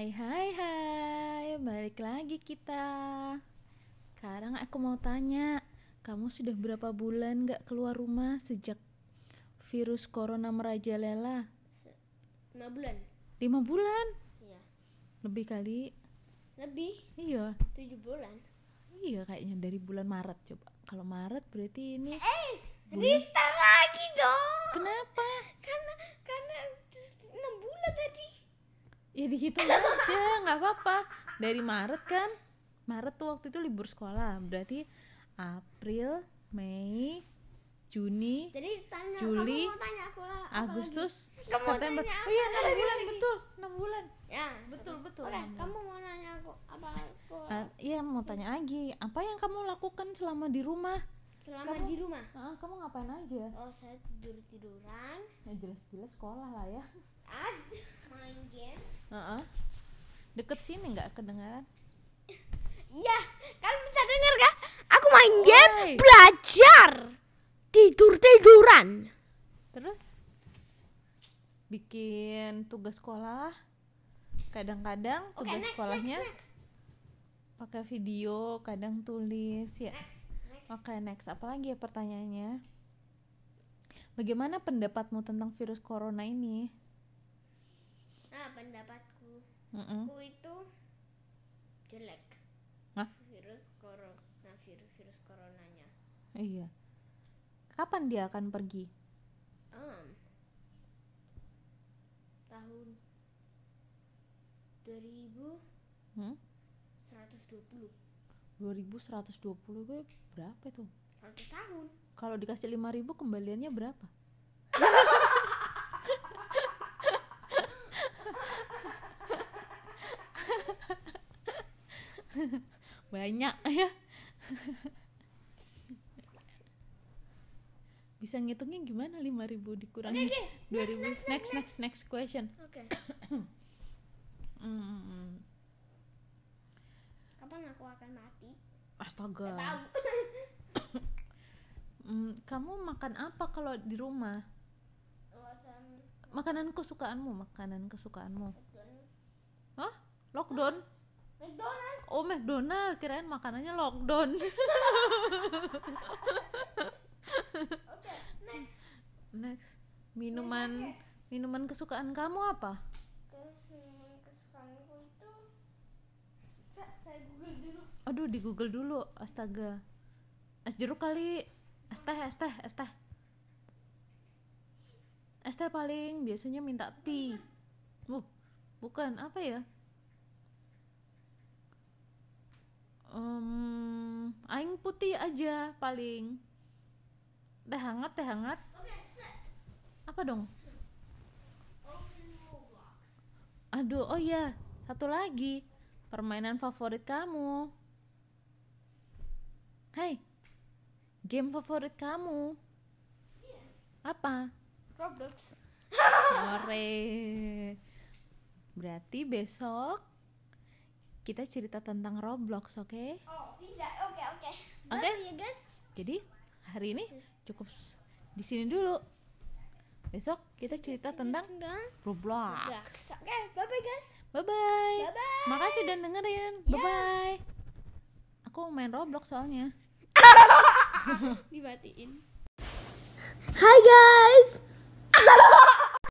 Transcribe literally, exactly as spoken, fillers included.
Hai hai hai, balik lagi kita. Sekarang aku mau tanya, kamu sudah berapa bulan gak keluar rumah sejak virus corona merajalela? Lima bulan. Lima bulan? Iya. Lebih kali? Lebih. Iya. Tujuh bulan. Iya kayaknya dari bulan Maret coba. Kalau Maret berarti ini. Eh, bulan... restart lagi dong. Kenapa? Karena karena enam bulan tadi. Ya dihitung aja, nggak apa-apa. Dari Maret kan? Maret tuh waktu itu libur sekolah. Berarti April, Mei, Juni, Jadi tanya, Juli, kamu mau tanya aku lah. Agustus, Kamu mau September. tanya Oh iya, apa enam lagi? bulan, betul, enam bulan. Ya, Betul, betul. Oke, enam bulan. kamu mau nanya aku apa aku Ah, iya, mau tanya lagi. Apa yang kamu lakukan selama di rumah? selama kamu- di rumah? Ah, kamu ngapain aja? Oh, saya tidur tiduran. Ya jelas-jelas sekolah lah ya. Ah, main game. Heeh. Deket sini nggak kedengaran? Iya, kalian bisa dengar kan? Aku main game, Oi. belajar, tidur tiduran. Terus bikin tugas sekolah. Kadang-kadang Oke, tugas next, sekolahnya next, next. pakai video, kadang tulis ya. Next, next. Oke, next. Apalagi ya pertanyaannya? Bagaimana pendapatmu tentang virus corona ini? Nah, pendapatku, Mm-mm. aku itu jelek. Hah? Virus corona, virus virus coronanya. Iya. Kapan dia akan pergi? Um, tahun dua ribu Hmm? seratus dua puluh. dua ribu seratus dua puluh gue berapa tuh? seratus tahun. Kalau dikasih lima ribu kembaliannya berapa? Banyak ya. Bisa ngitungnya gimana lima ribu dikurangi Oke, oke. dua ribu? Next, Next next next question. Oke. Hmm. Kapan aku akan mati? Astaga. Gak tahu. Hmm, kamu makan apa kalau di rumah? Makanan kesukaanmu, makanan kesukaanmu. Hah? Lockdown? McDonald. Oh, McDonald, kirain makanannya lockdown. Oke, next. Next, minuman minuman kesukaan kamu apa? Minuman kesukaanku itu Sa- saya google dulu. Aduh, di Google dulu. Astaga. Es jeruk kali. Es teh, es teh, es teh. Es teh paling biasanya minta tea. Uh, bukan apa ya? Um, aing putih aja paling. Teh hangat, teh hangat. Oke, set. Apa dong? Open Roblox. Aduh, oh iya, satu lagi. Permainan favorit kamu. Hai. Game favorit kamu. Apa? Roblox. Sore. Berarti besok kita cerita tentang Roblox, oke? Okay? Oh, tidak. Oke, oke. Oke. Bye ya, guys. Jadi hari ini cukup s- di sini dulu. Besok kita cerita tentang Tentang Roblox. Oke, bye-bye guys. Bye bye. Bye-bye. Makasih udah dengerin. Ya. Bye bye. Aku main Roblox soalnya. Dimatiin. Hai guys.